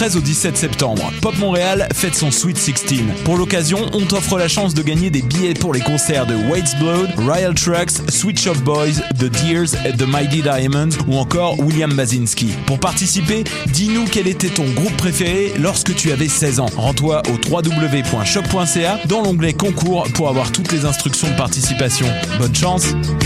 13 au 17 septembre, Pop Montréal fête son Sweet 16. Pour l'occasion, on t'offre la chance de gagner des billets pour les concerts de Wade's Blood, Royal Trucks, Sweet Shop Boys, The Deers et The Mighty Diamonds ou encore William Basinski. Pour participer, dis-nous quel était ton groupe préféré lorsque tu avais 16 ans. Rends-toi au www.choc.ca dans l'onglet concours pour avoir toutes les instructions de participation. Bonne chance!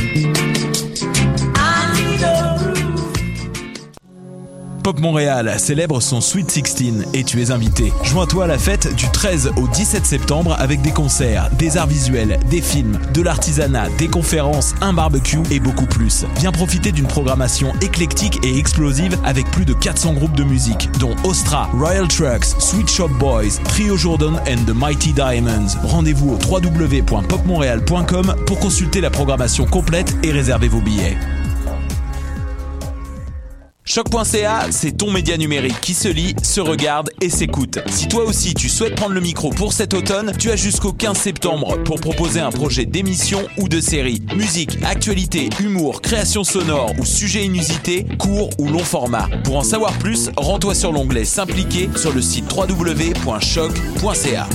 Pop Montréal célèbre son Sweet 16 et tu es invité. Joins-toi à la fête du 13 au 17 septembre avec des concerts, des arts visuels, des films, de l'artisanat, des conférences, un barbecue et beaucoup plus. Viens profiter d'une programmation éclectique et explosive avec plus de 400 groupes de musique, dont Ostra, Royal Trucks, Sweet Shop Boys, Trio Jordan and The Mighty Diamonds. Rendez-vous au www.popmontréal.com pour consulter la programmation complète et réserver vos billets. Choc.ca, c'est ton média numérique qui se lit, se regarde et s'écoute. Si toi aussi tu souhaites prendre le micro pour cet automne, tu as jusqu'au 15 septembre pour proposer un projet d'émission ou de série. Musique, actualité, humour, création sonore ou sujet inusité, court ou long format. Pour en savoir plus, rends-toi sur l'onglet S'impliquer sur le site www.choc.ca.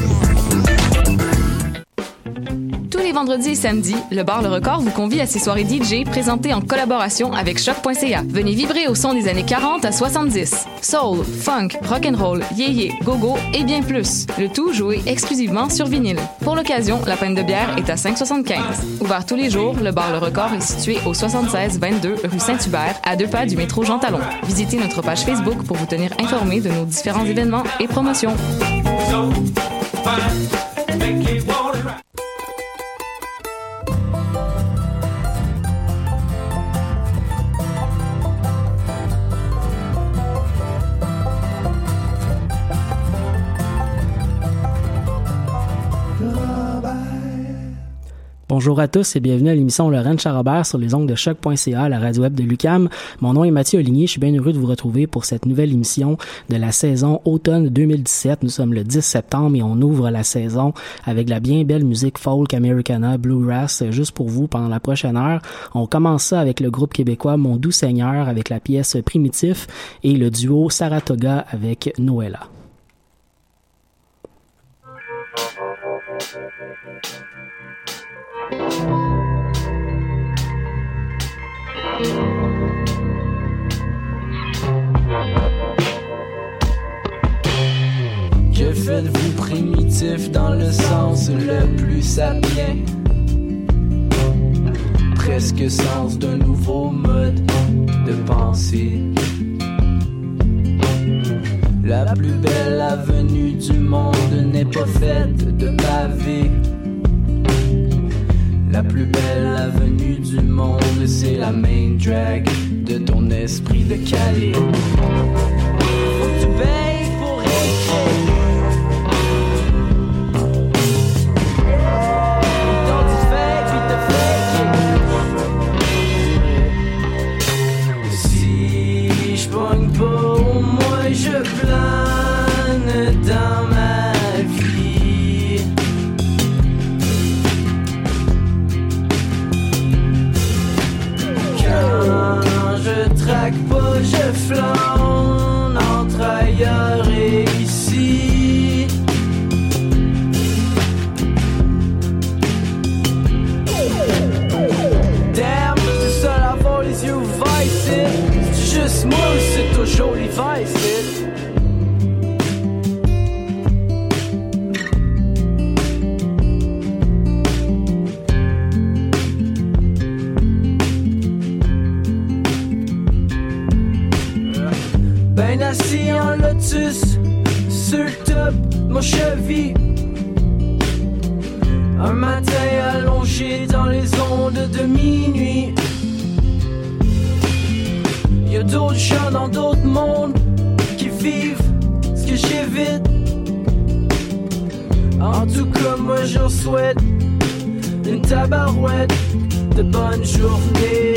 Tous les vendredis et samedis, le bar Le Record vous convie à ses soirées DJ présentées en collaboration avec Choc.ca. Venez vibrer au son des années 40 à 70. Soul, funk, rock'n'roll, yéyé, go-go et bien plus. Le tout joué exclusivement sur vinyle. Pour l'occasion, la pinte de bière est à 5,75. Ouvert tous les jours, le bar Le Record est situé au 76-22 rue Saint-Hubert, à 2 pas du métro Jean Talon. Visitez notre page Facebook pour vous tenir informé de nos différents événements et promotions. Bonjour à tous et bienvenue à l'émission Lorraine Charrobert sur les ondes de choc.ca, la radio web de l'UQAM. Mon nom est Mathieu Oligny, je suis bien heureux de vous retrouver pour cette nouvelle émission de la saison automne 2017. Nous sommes le 10 septembre et on ouvre la saison avec la bien belle musique folk, Americana, Bluegrass, juste pour vous pendant la prochaine heure. On commence ça avec le groupe québécois Mon Doux Seigneur avec la pièce Primitif et le duo Saratoga avec Noëlla. Que faites-vous primitif dans le sens le plus sapien? Presque sens d'un nouveau mode de pensée. La plus belle avenue du monde n'est pas faite de pavés. La plus belle avenue du monde, c'est la main drag de ton esprit de Calais. Faut que tu payes pour écrire. Ton tu fais puis te fais. Si je pogne pas, au moins je plane dans ma vie. Quand je traque pas, je flâne entre ailleurs et ici. Damn, c'est seul à avoir les yeux ouverts ici. C'est juste moi ou c'est toujours l'hiver ici? Ben assis en lotus, sur le top, mon cheville. Un matin allongé dans les ondes de minuit. Y'a d'autres gens dans d'autres mondes qui vivent ce que j'évite. En tout cas, moi je leur souhaite une tabarouette de bonne journée.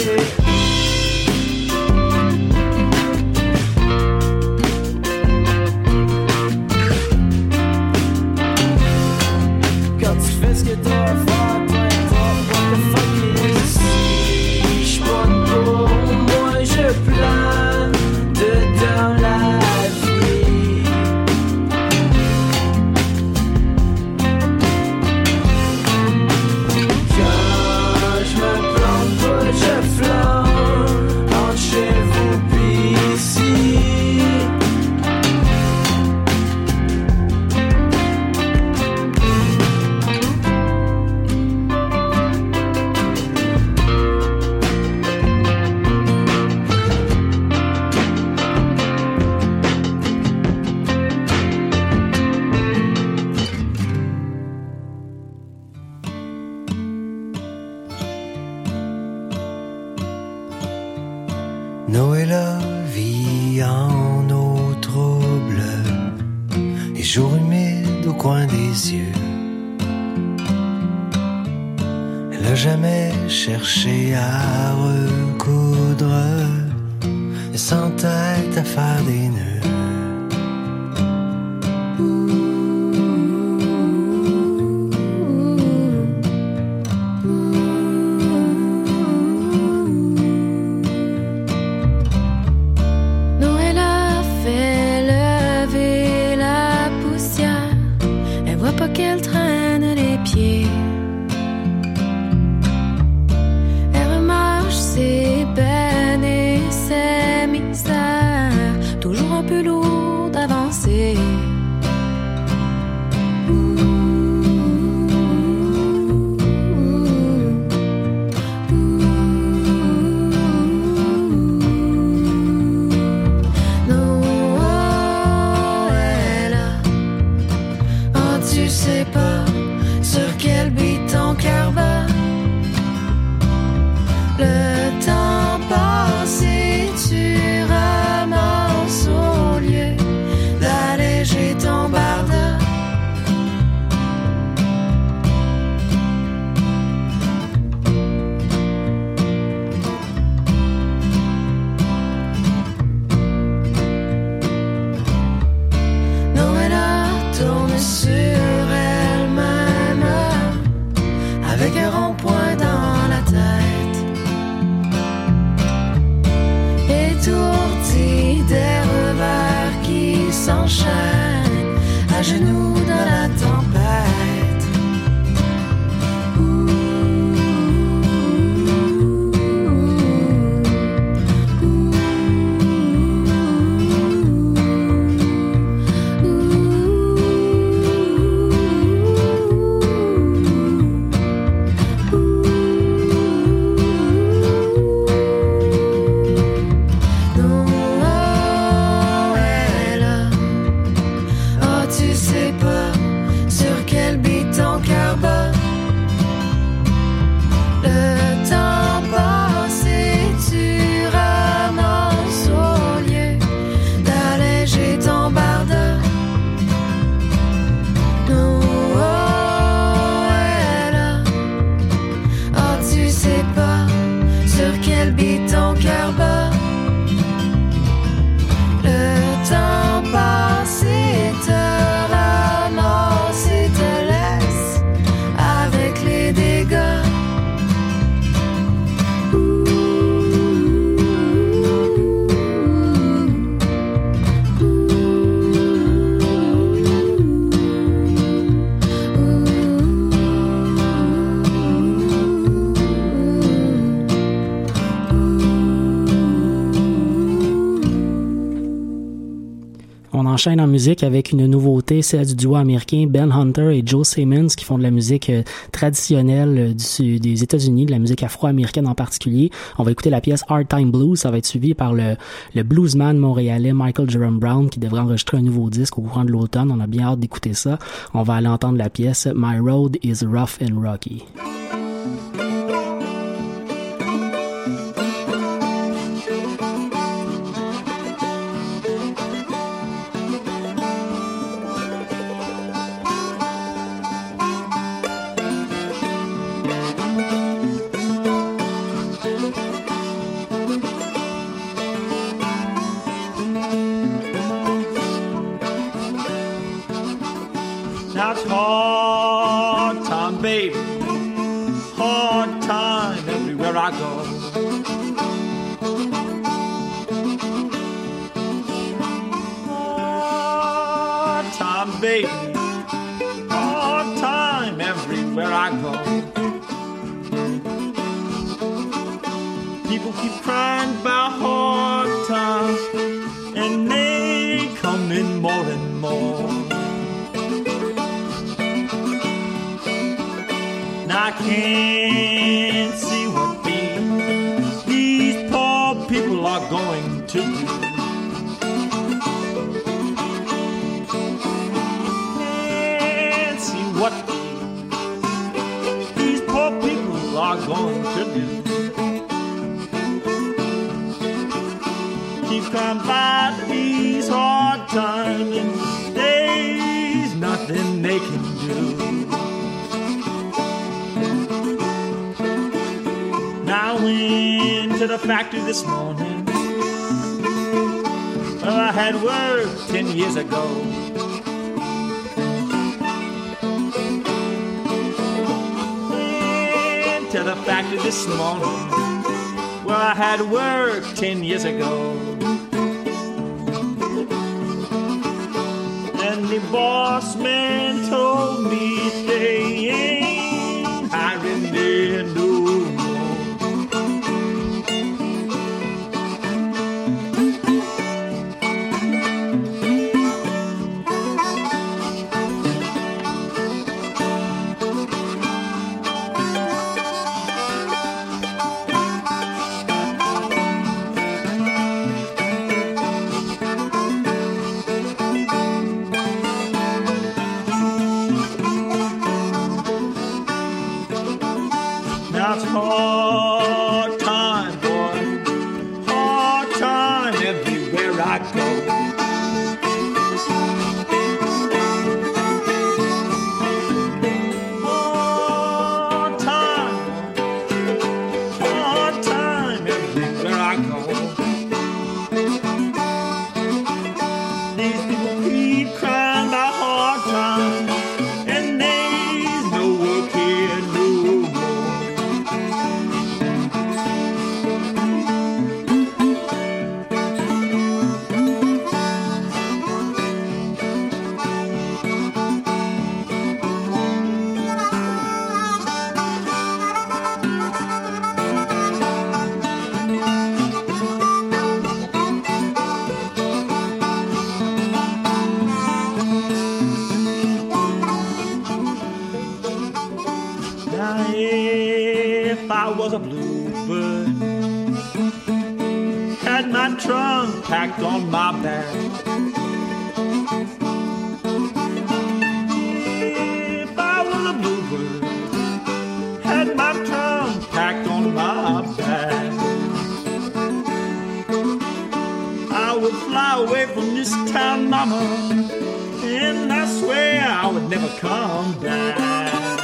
Qu'est-ce que t'as à faire, peu importe what the fuck it is. Si j'pogne pas, moi je plane dedans la vie. Noé la vie en eau trouble et jour humide au coin des yeux. Elle n'a jamais cherché à recoudre et sans tête à faire des nœuds. Qu'elle traîne les pieds. Elle remarche ses peines et ses misères, toujours un peu lourd d'avancer. Enchaîne en musique avec une nouveauté, celle du duo américain Ben Hunter et Joe Simmons qui font de la musique traditionnelle des États-Unis, de la musique afro-américaine en particulier. On va écouter la pièce Hard Time Blues, ça va être suivi par le bluesman montréalais Michael Jerome Brown qui devrait enregistrer un nouveau disque au courant de l'automne. On a bien hâte d'écouter ça. On va aller entendre la pièce My Road is Rough and Rocky. That's hard time, baby. Hard time everywhere I go. Hard time, baby. Hard time everywhere I go. People keep crying about hard times, and they come in more and more. I can't see what these poor people are going to do. Can't see what these poor people are going to do. keep coming by these hard times, and there's nothing they can do. Now I went to the factory this morning. Well, I had work 10 years ago. Went to the factory this morning. Well, I had work 10 years ago. And the boss man told me they ain't hiring there no more. Now it's hard time, boy, hard time everywhere I go. Hard time everywhere I go. These people keep crying about hard times, and there's no work here no more. Now if I was a bluebird, had my trunk packed on my back, if I was a bluebird, had my trunk packed on my back, I would fly away from this town, mama, and I swear I would never come back.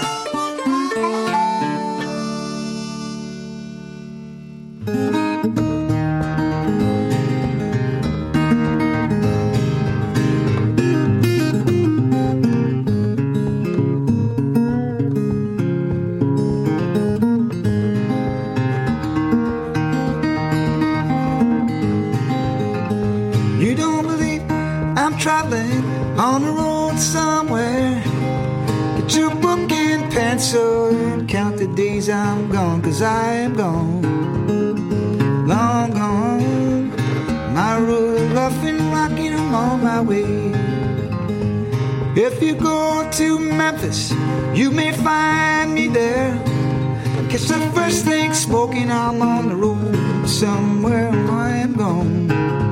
You don't believe I'm traveling on the road somewhere. Get your book and pencil and count the days I'm gone, 'cause I am gone, long gone. My road is rough and rocking, I'm on my way. If you go to Memphis, you may find me there. Catch the first thing smoking, I'm on the road somewhere. I am gone,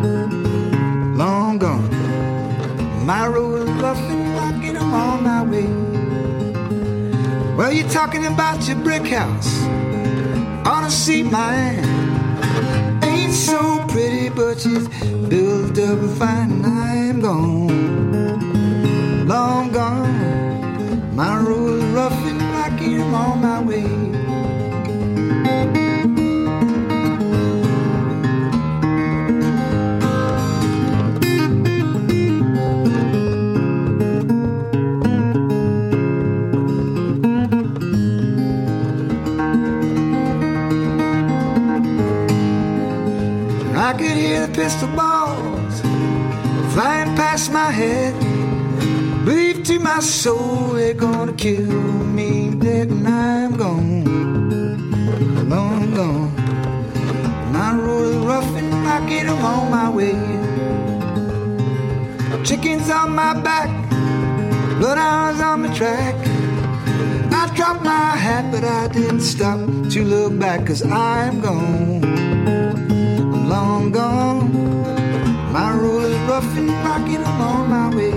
long gone. My road is rough and rocking, I'm on my way. Well, you're talking about your brick house. Wanna see mine? Ain't so pretty, but she's built up fine. I'm gone, long gone. My road is rough and rocking, I'm on my way. I could hear the pistol balls flying past my head. Believe to my soul they're gonna kill me dead, and I'm gone, long gone. My road is rough and rocky, I'm on my way. Chickens on my back, bloodhounds on my track. I dropped my hat, but I didn't stop to look back, 'cause I'm gone, long gone. My road is rough and rocking, I'm on my way.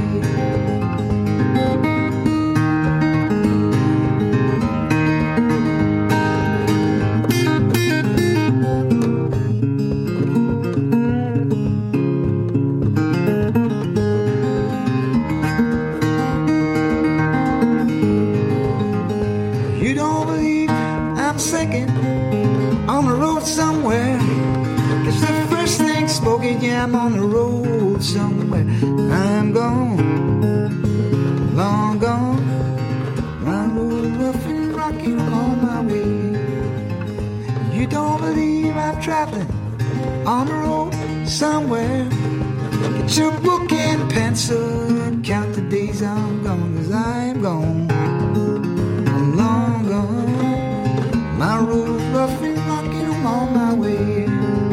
I'm on the road somewhere. I'm gone, long gone. My road rough and rocky on my way. You don't believe I'm traveling on the road somewhere. Get your book and pencil and count the days I'm gone, 'cause I'm gone, I'm long gone. My road rough and rocky, I'm on my way.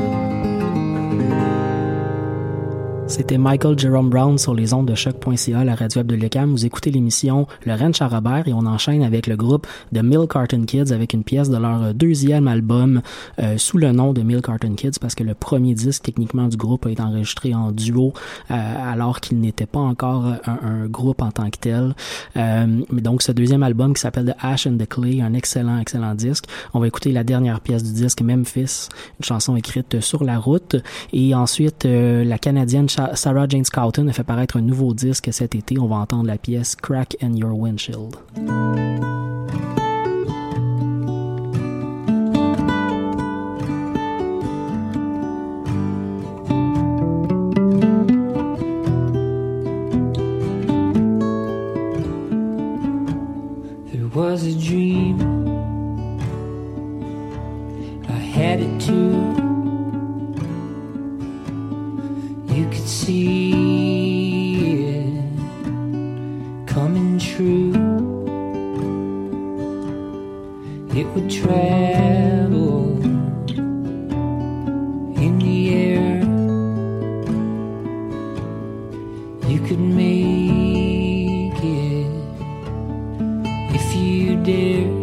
C'était Michael Jerome Brown sur les ondes de choc.ca, la radio web de l'UQAM. Vous écoutez l'émission Le Ranch à Robert et on enchaîne avec le groupe The Milk Carton Kids avec une pièce de leur deuxième album sous le nom de Milk Carton Kids parce que le premier disque techniquement du groupe a été enregistré en duo alors qu'il n'était pas encore un groupe en tant que tel. Mais donc ce deuxième album qui s'appelle The Ash and the Clay, un excellent disque. On va écouter la dernière pièce du disque, Memphis, une chanson écrite sur la route. Et ensuite la Canadienne Sarah Jane Scouten a fait paraître un nouveau disque cet été. On va entendre la pièce Crack in Your Windshield. There was a dream, I had it too. You could see it coming true. It would travel in the air. You could make it if you dared.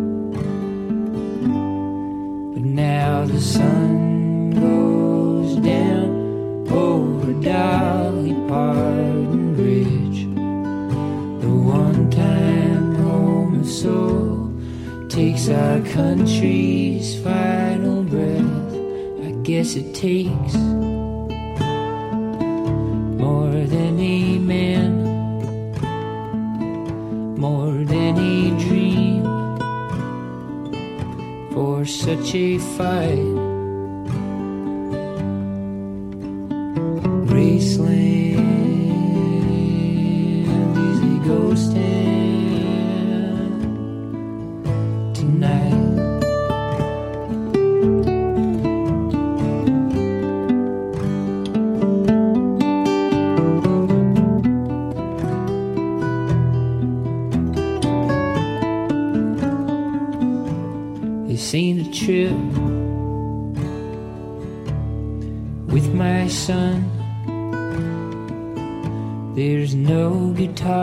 But now the sun goes down over Dolly Parton Bridge, the one-time home of soul, takes our country's final breath. I guess it takes more than a man, more than a dream, for such a fight. Graceland is a ghost town tonight. This ain't a trip with my son. There's no guitar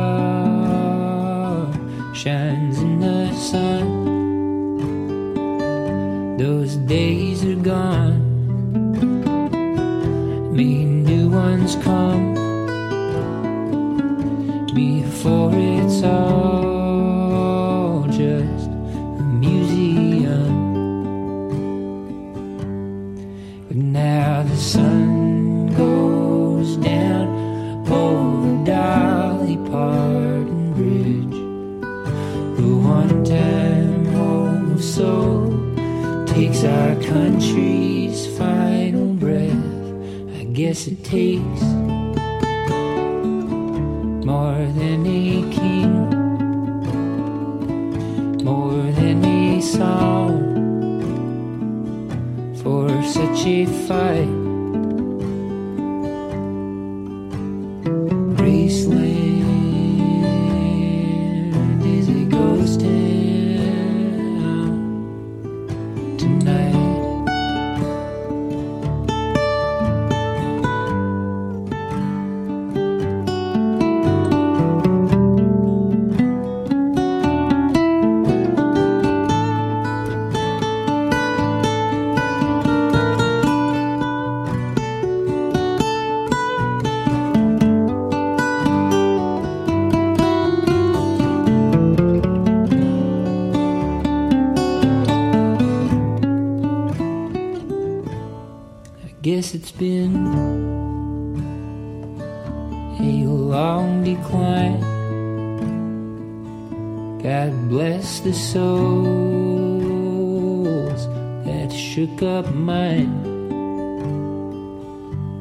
shines in the sun. Those days are gone. May new ones come before it's all just a museum. But now the sun goes down over Dolly Parton Bridge, the one-time home of soul, takes our country's final breath. I guess it takes more than a king, more than a song, for such a fight. Graceland is a ghost town tonight. Guess it's been a long decline. God bless the souls that shook up mine.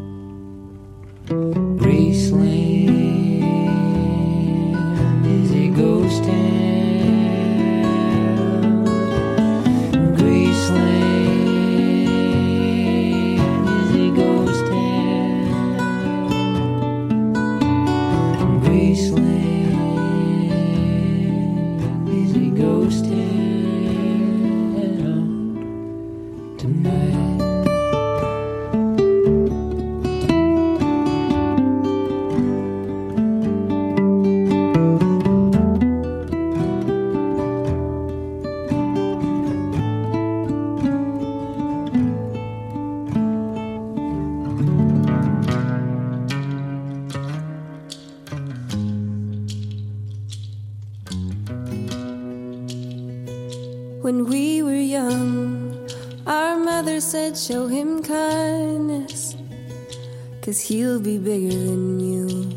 When we were young, our mother said show him kindness, 'cause he'll be bigger than you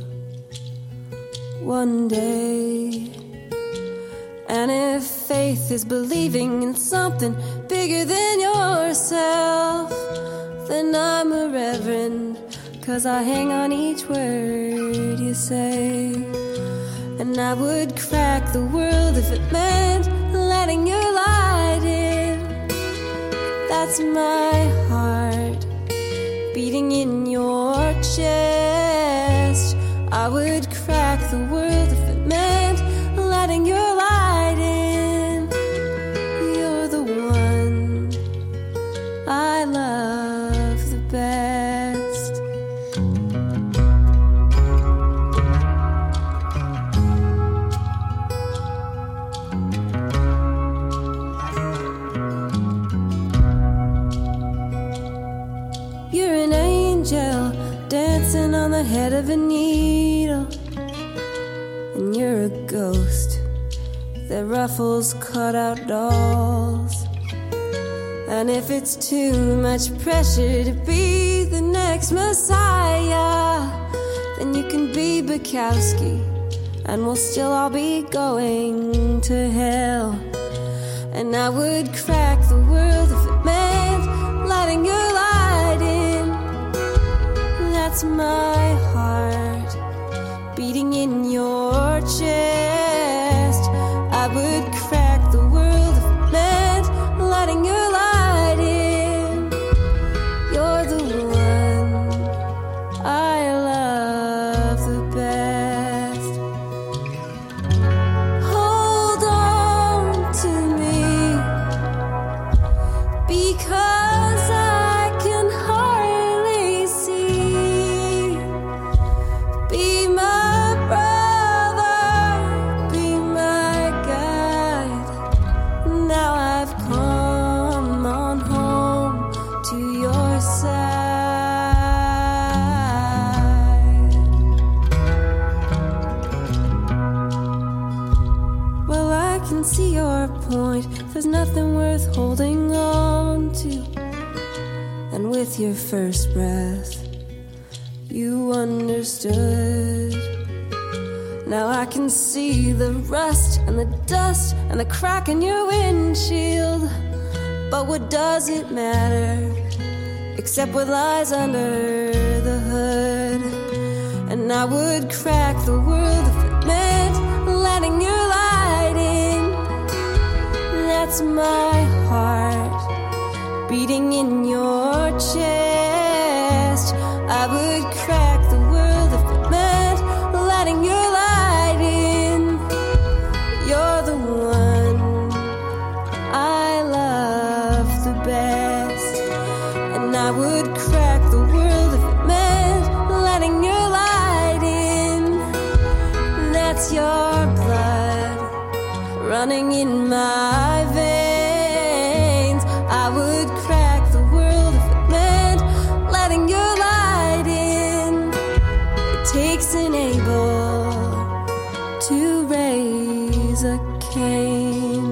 one day. And if faith is believing in something bigger than yourself, then I'm a reverend, 'cause I hang on each word you say. And I would crack the world if it meant letting your light in. That's my heart beating in your chest. I would crack the world if it meant letting your light in. You're the one I love the best. You're an angel dancing on the head of a needle, and you're a ghost that ruffles cutout dolls. And if it's too much pressure to be the next Messiah, then you can be Bukowski, and we'll still all be going to hell. And I would crack the world if it meant letting your light in. That's my heart beating in your chest. I would crack the world if it meant letting your light in. You're the one I love the best. Hold on to me, because I can hardly see. Be my brother, be my guide. Now I've come on home to your side. Well, I can see your point. There's nothing worth holding on to. And with your first breath, you understood. Now I can see the rust and the dust and the crack in your windshield. But what does it matter, except what lies under the hood? And I would crack the world if it meant letting your light in. That's my heart beating in your chest. I would crack the world if it meant letting your light in. You're the one I love the best. And I would crack the world if it meant letting your light in. That's your blood running in my veins. I would crack the world if it meant letting your light in. It takes an Abel to raise a Cain.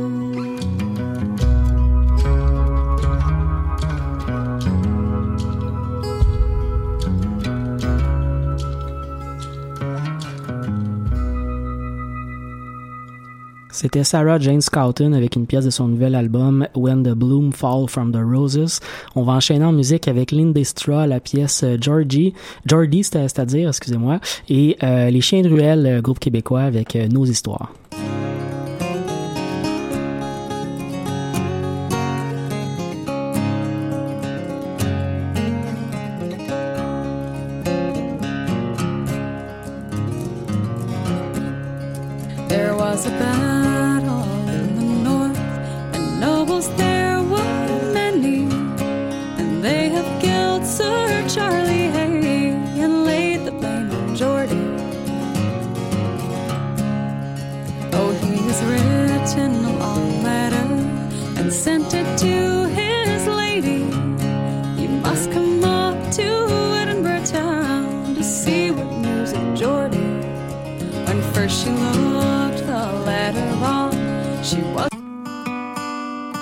C'était Sarah Jane Scouten avec une pièce de son nouvel album When the Bloom Fall from the Roses. On va enchaîner en musique avec Lindy Straw, la pièce Geordie, c'est-à-dire, excusez-moi, et Les Chiens de Ruelle, groupe québécois, avec Nos Histoires. There was a battle in the north, and nobles there were many, and they have killed Sir Charlie Hay and laid the blame on Geordie. Oh, he's written a long letter and sent it to his lady. You must come up to Edinburgh town to see what news of Geordie. When first she looked the letter on, she was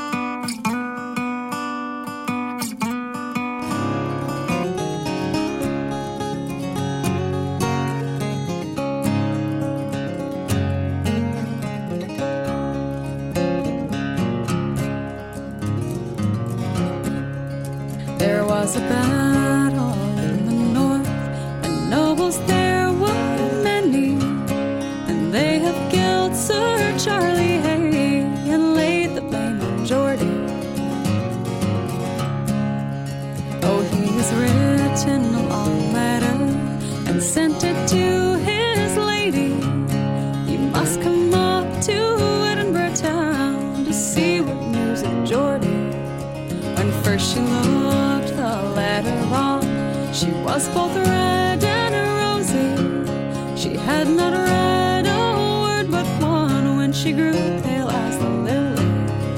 There was a battle in the north, and nobles there were many, and they have killed Sir Charlie Hay and laid the blame on Geordie. Oh, he's written a long letter and sent it to his lady. You must come up to Edinburgh town to see what news of Geordie. When first she looked the letter on, she was both red and rosy. She had not read a word but one when she grew pale as the lily.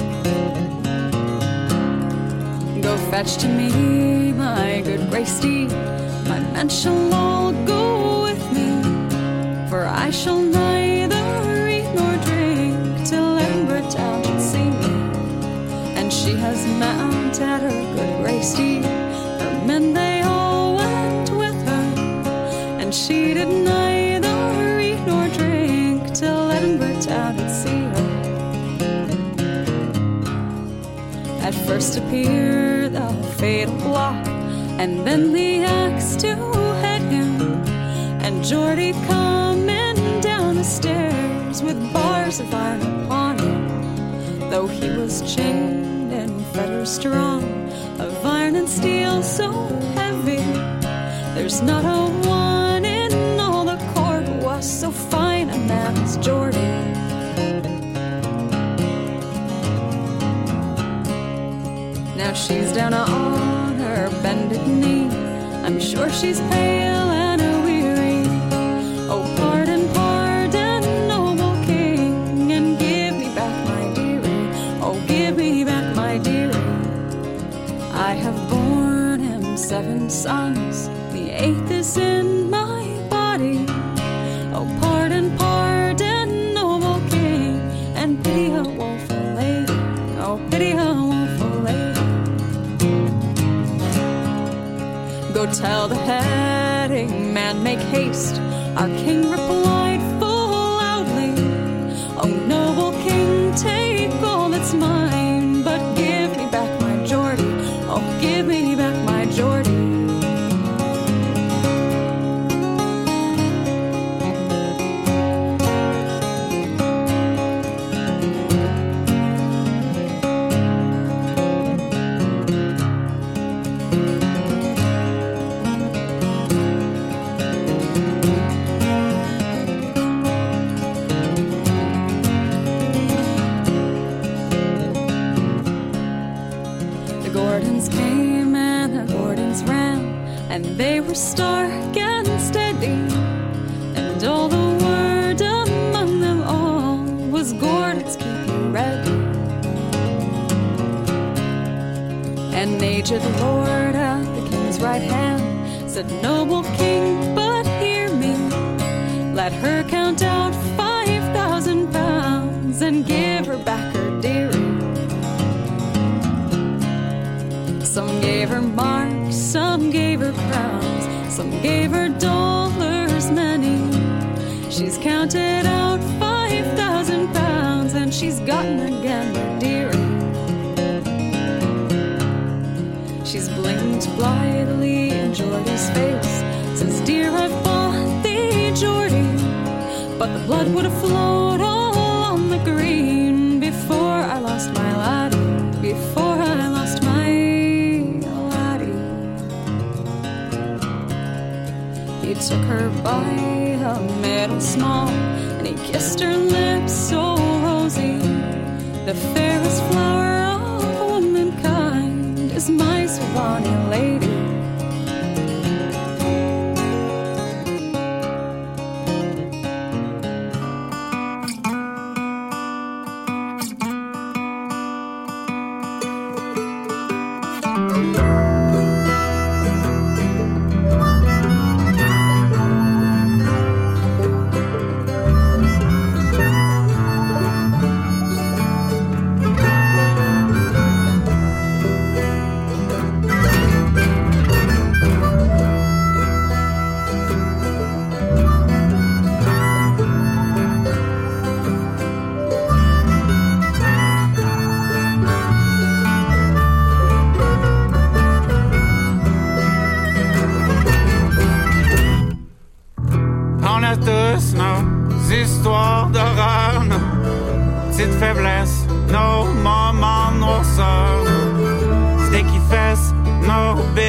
Go fetch to me my good grey steed, my men shall all go with me, for I shall neither eat nor drink till Edinburgh town should see me. And she has mounted her good grey steed, her men they all went with her, and she did neither eat nor drink till Edinburgh town should see her. At first appeared the fatal block, and then the axe to head him, and Geordie coming down the stairs with bars of iron upon him. Though he was chained and fetters strong, of iron and steel so heavy, there's not a one in all the court who was so fine a man as Geordie. Now she's down on her bended knee, I'm sure she's pale and weary. Oh, pardon, pardon, noble king, and give me back my dearie. Oh, give me back my dearie. I have borne him 7 sons, the 8th is in my body. Oh, pardon, pardon, noble king, and pity a woeful lady. Oh, pity a woeful lady. Go tell the heading man, make haste. Our king replied full loudly, oh, noble king, take all that's mine, but give me back my Geordie. Oh, give me back my Geordie. And they were stark and steady, and all the word among them all was Gordon's keep you ready. An aged lord at the king's right hand said, noble king, but hear me, let her count out 5,000 pounds and give her back her dearie. Some gave her marks, some gave her crowns, some gave her dollars many. She's counted out 5,000 pounds, and she's gotten again her dearie. She's blinked blithely in Geordie's face, says, dear, I've bought thee, Geordie, but the blood would have flowed all on the green before I lost my laddie, before I lost my He took her by a middle small, and he kissed her lips so rosy. The fairest flower of womankind is my so bonny lady.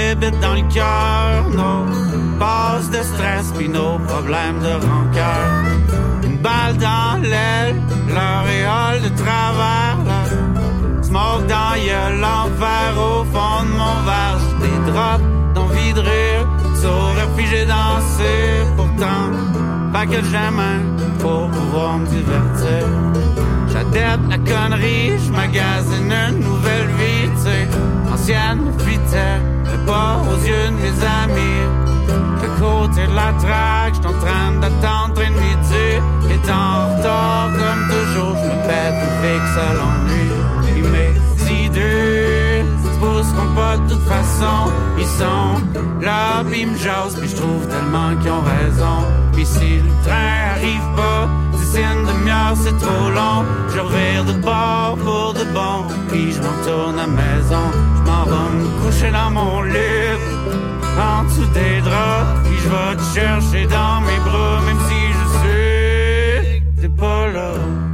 bébites dans le cœur, nos passes de stress pis nos problèmes de rancœur. Une balle dans l'aile, l'auréole de travers, là. Smoke dans gueule, l'enfer au fond de mon verre. J'ai des drops d'envie de rire, saurais figé danser. Pourtant, pas que j'aime pour pouvoir me divertir. J'adepte la connerie, j'magasine une nouvelle vie, tu sais. Ancienne me fitait, mais pas aux yeux de mes amis. À côté de la traque, j'suis en train d'attendre train de midi. Et en retard, comme toujours, j'me pète une fixe à l'ennui. Et mes idées se pousseront pas de toute façon. Ils sont là, pis ils me jasent, pis j'trouve tellement qu'ils ont raison. Pis si le train arrive pas, d'ici une demi-heure c'est trop long. Je revire de bord pour de bon, puis je retourne à maison. Je m'en vais me coucher dans mon lit, en dessous des draps, puis je vais te chercher dans mes bras, même si je sais que t'es pas là.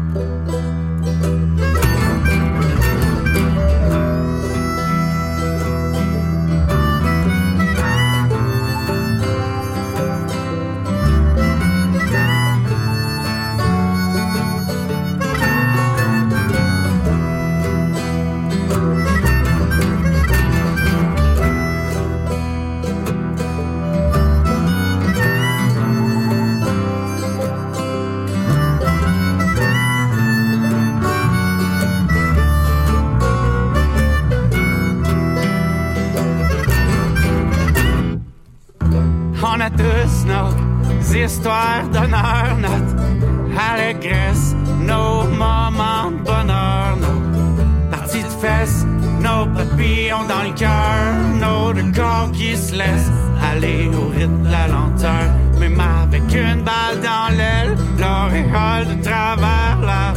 On a tous nos histoires d'honneur, notre allégresse, nos moments de bonheur, nos parties de fesses, nos papillons dans le cœur, nos deux corps qui se laissent aller au rythme de la lenteur. Même avec une balle dans l'aile, l'auréole de travers, la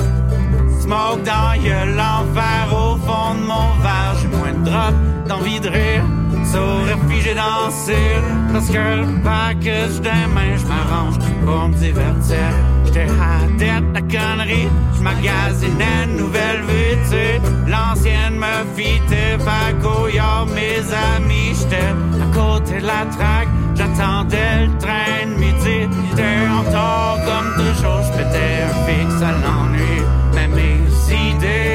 smoke dans gueule, l'enfer au fond de mon verre. J'ai moins de drop, d'envie de rire, saurais figé dans cire. Parce que le package des mains, j'm'arrange pour me divertir. J'étais adepte la connerie, j'magasinais une nouvelle vie, tu sais. L'ancienne me fitait, fait qu'au mes amis. J'étais à côté de la traque, j'attendais le train de midi. J'étais en retard comme toujours, j'pétais un fixe à l'ennui. Mais mes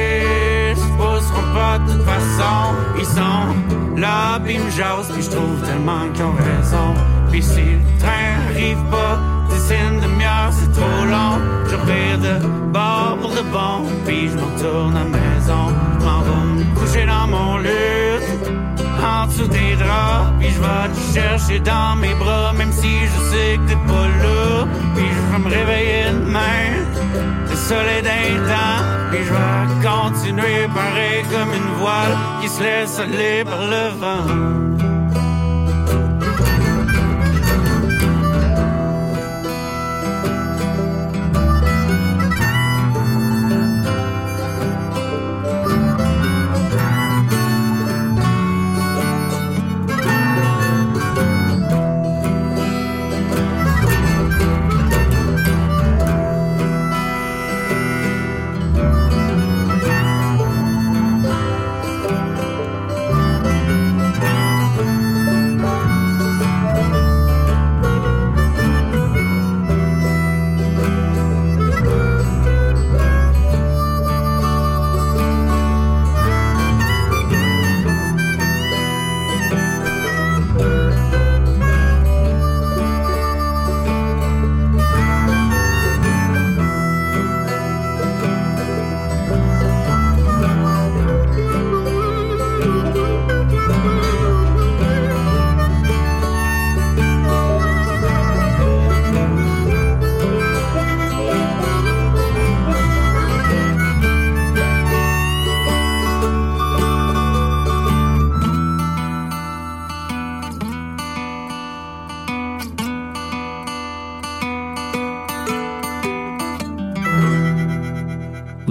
idées se pousseront pas de toute façon. Ils sont là, pis me jasent, pis j'trouve tellement qu'ils ont raison. Pis si le train arrive pas, d'ici une demi-heure c'est trop long. Je revire de bord pour de bon, pis je me retourne à la maison. J'm'en vais me coucher dans mon lit, en dessous des draps, pis je vais te chercher dans mes bras, même si je sais que t'es pas là. Pis je vais me réveiller demain, le soleil d'un temps, pis je vais continuer pareil comme une voile qui se laisse aller par le vent.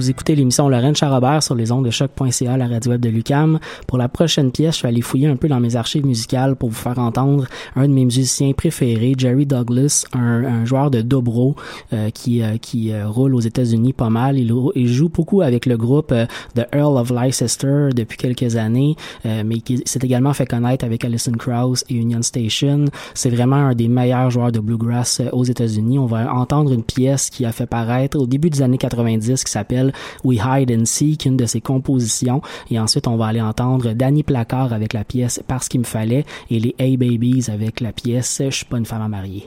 Vous écoutez l'émission Lorraine Charrobert sur les ondes de choc.ca, la radio web de l'UQAM. Pour la prochaine pièce, je vais aller fouiller un peu dans mes archives musicales pour vous faire entendre un de mes musiciens préférés, Jerry Douglas, un joueur de dobro qui roule aux États-Unis pas mal. Il joue beaucoup avec le groupe The Earl of Leicester depuis quelques années, mais qui s'est également fait connaître avec Alison Krauss et Union Station. C'est vraiment un des meilleurs joueurs de bluegrass aux États-Unis. On va entendre une pièce qui a fait paraître au début des années 90 qui s'appelle We Hide and Seek, une de ses compositions. Et ensuite, on va aller entendre Danny Placard avec la pièce Parce qu'il me fallait et les Hey Babies avec la pièce Je suis pas une femme à marier.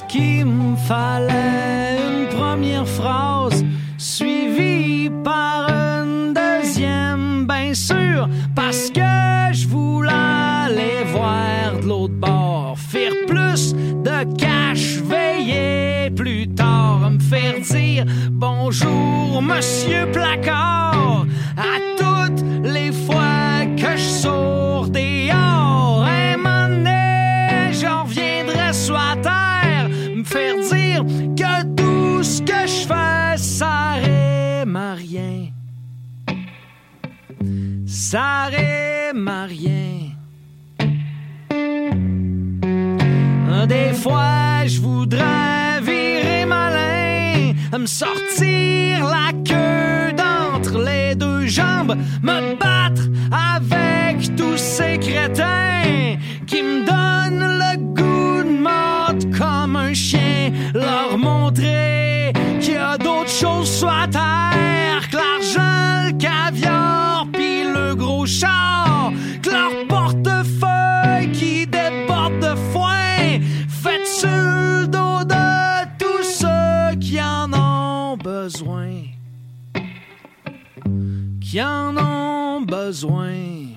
qu'il me fallait une première phrase suivie par une deuxième, bien sûr, parce que je voulais aller voir de l'autre bord, faire plus de cash, veiller plus tard, me faire dire bonjour, monsieur Placard, à toutes les fois que je sors dehors. Un moment donné, je reviendrai sur la terre, me faire dire que tout ce que je fais, ça rime à rien. Ça rime à rien. Des fois, je voudrais virer malin, me sortir la queue d'entre les deux jambes, me battre avec tous ces crétins qui me donnent le goût de mordre comme un chien, leur montrer qu'il y a d'autres choses sur la terre que l'argent, le caviar pis le gros char, que leur portefeuille qui déborde de foin fait sur le dos de tous ceux qui en ont besoin, qui en ont besoin.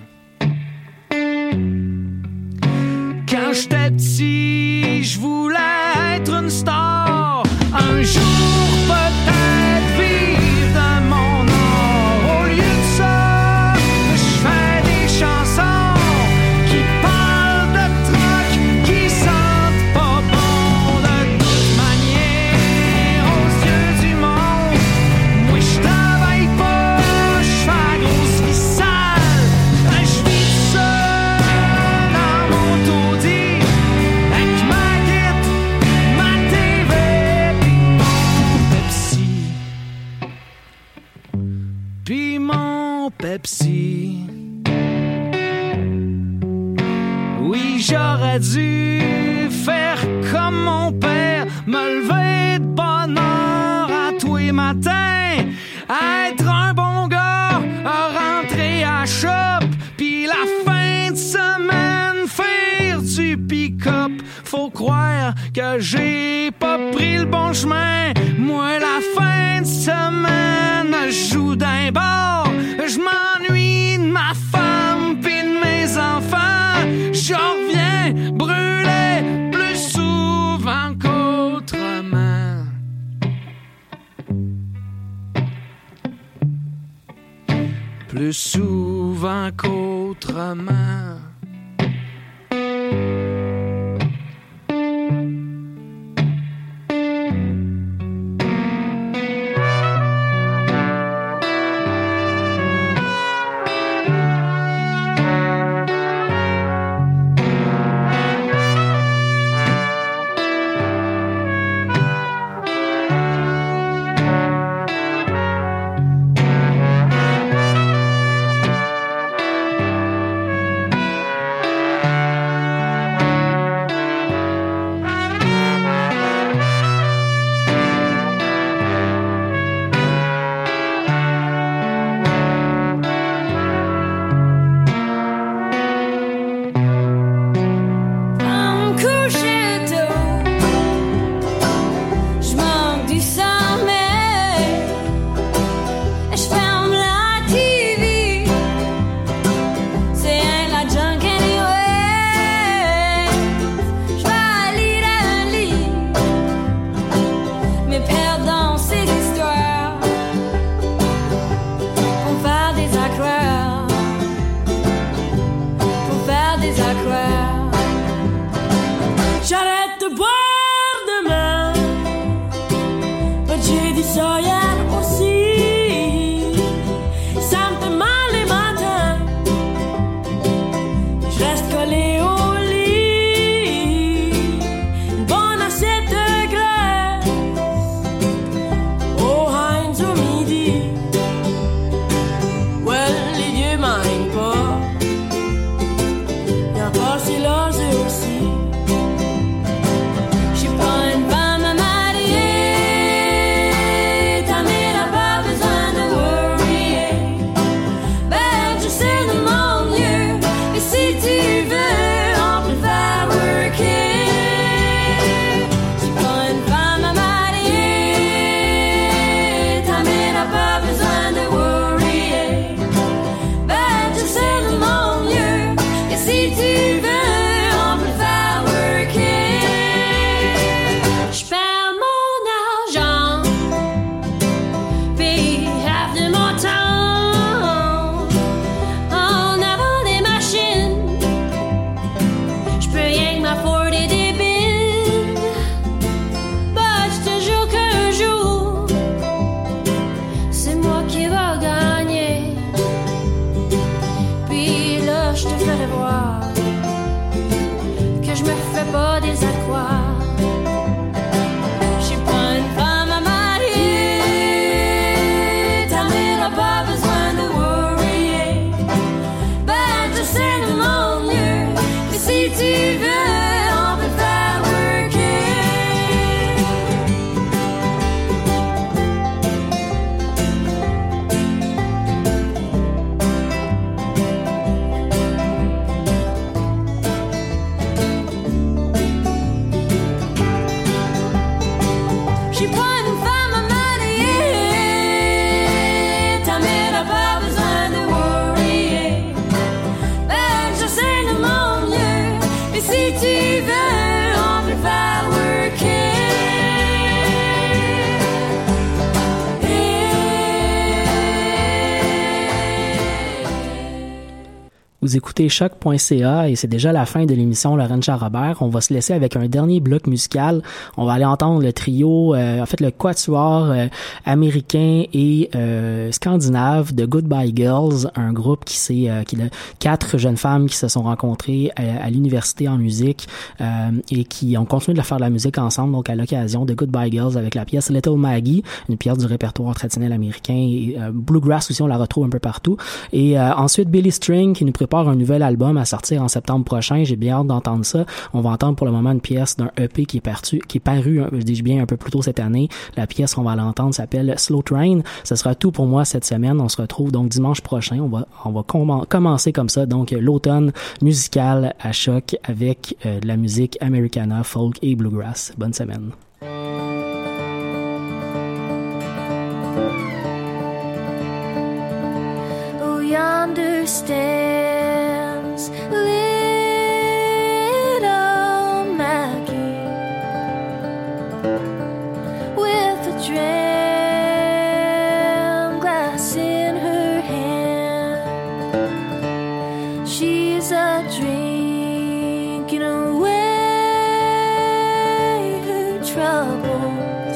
Quand j'étais petit, je voulais être une star, un jour peut-être vivre de mon art. Au lieu de ça, je fais des chansons qui parlent de trucs qui sentent pas bon. De toute manière, aux yeux du monde, moi je travaille pas, je fais la grosse vie sale. Je vis seul dans mon taudis, avec ma guitare, ma TV pis mon Pepsi. Oui, j'aurais dû faire comme mon père, me lever de bonne heure à tous les matins, être un bon gars, rentrer à shop, puis la fin de semaine faire du pick-up. Faut croire que j'ai pas pris le bon chemin. Moi, la fin de semaine, je joue d'un bar, je m'ennuie de ma femme pis de mes enfants. Je reviens brûler plus souvent qu'autrement. Plus souvent qu'autrement. Vous écoutez choc.ca et c'est déjà la fin de l'émission Laurent Charrobert. On va se laisser avec un dernier bloc musical. On va aller entendre le trio, le quatuor américain et scandinave de Goodbye Girls, un groupe qui est 4 jeunes femmes qui se sont rencontrées à l'université en musique et qui ont continué de faire de la musique ensemble, donc à l'occasion de Goodbye Girls avec la pièce Little Maggie, une pièce du répertoire traditionnel américain, et Bluegrass aussi, on la retrouve un peu partout. Et ensuite Billy String qui nous prépare un nouvel album à sortir en septembre prochain. J'ai bien hâte d'entendre ça. On va entendre pour le moment une pièce d'un EP qui est paru, je dis bien, un peu plus tôt cette année. La pièce qu'on va l'entendre s'appelle Slow Train. Ce sera tout pour moi cette semaine. On se retrouve donc dimanche prochain. On va commencer comme ça. Donc l'automne musical à Choc avec de la musique Americana, folk et bluegrass. Bonne semaine. Yonder stands little Maggie with a dram glass in her hand. She's a drinking away her troubles.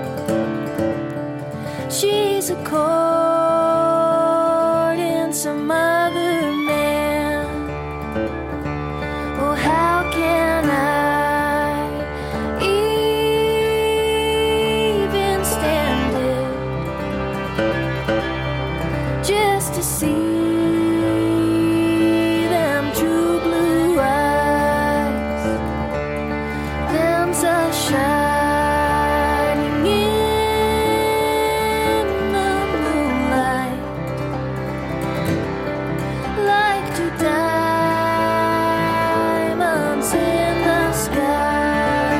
She's a some other man. Oh, how can I even stand it just to see them true blue eyes, them so shining in the moonlight. Like two diamonds in the sky.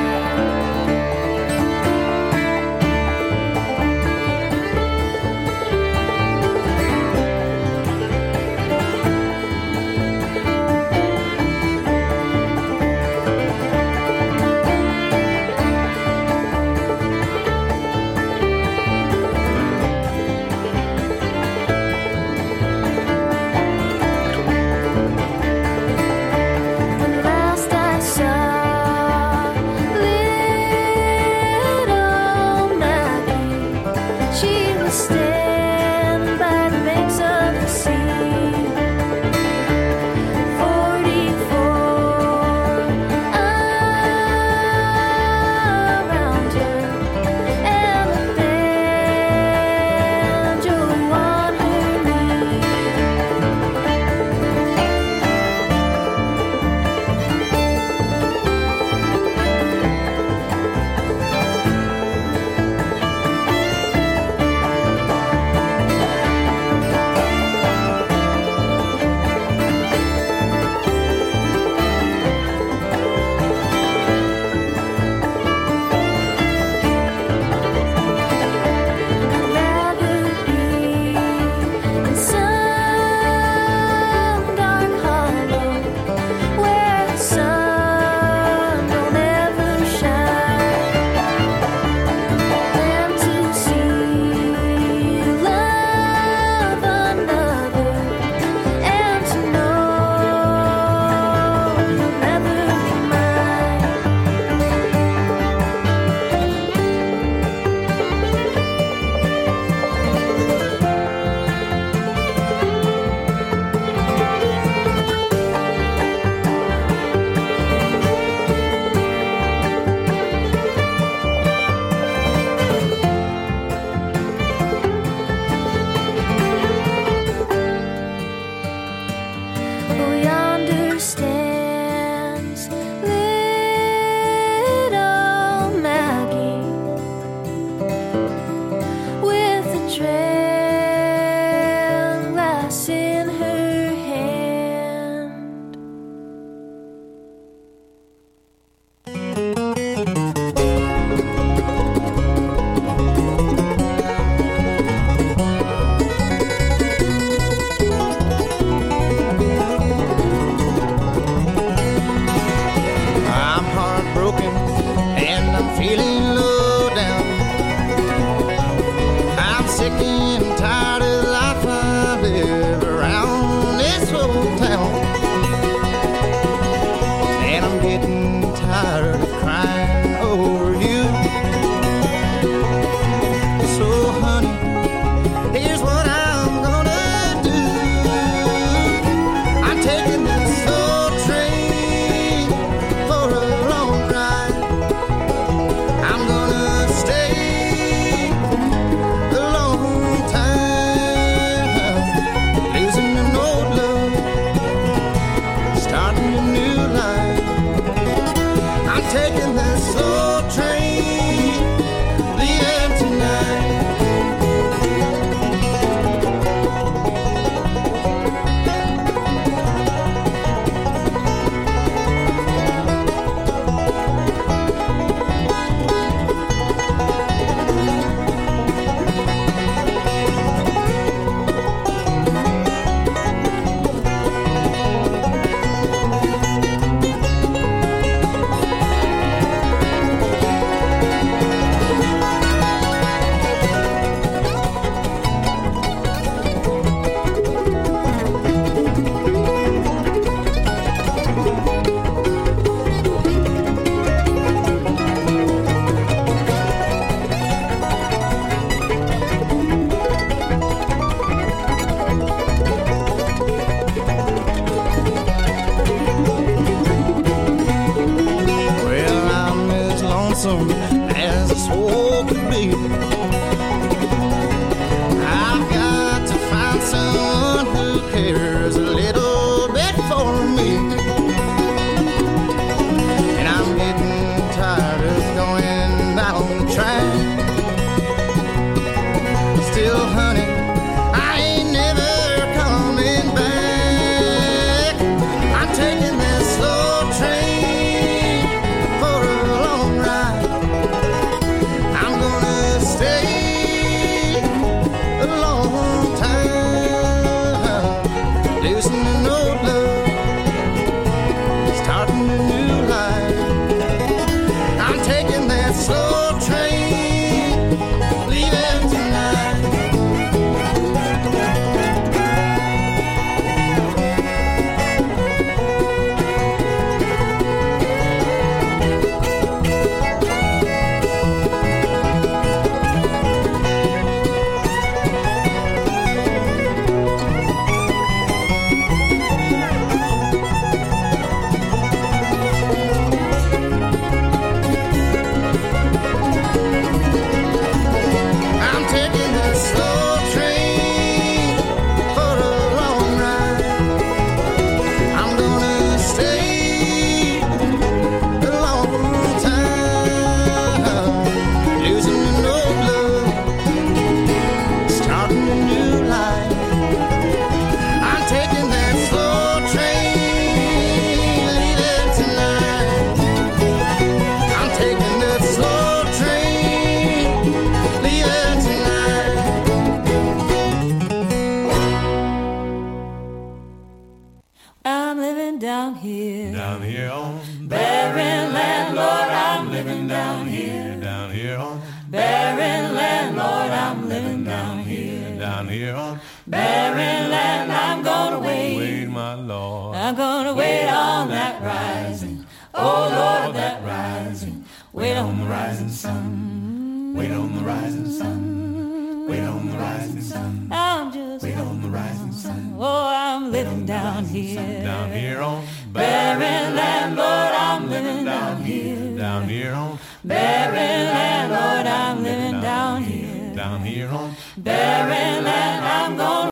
on barren land. I'm gonna wait. Wait, my Lord. I'm gonna wait on that rising. Oh Lord, that rising. Wait on the rising sun. Wait on the rising sun. Wait on the rising sun. I'm just wait on the rising sun. Oh, I'm living down here. Down here on barren land, Lord, I'm living down here. Down here on barren land, Lord, I'm living down here. Down here on barren land, I'm gonna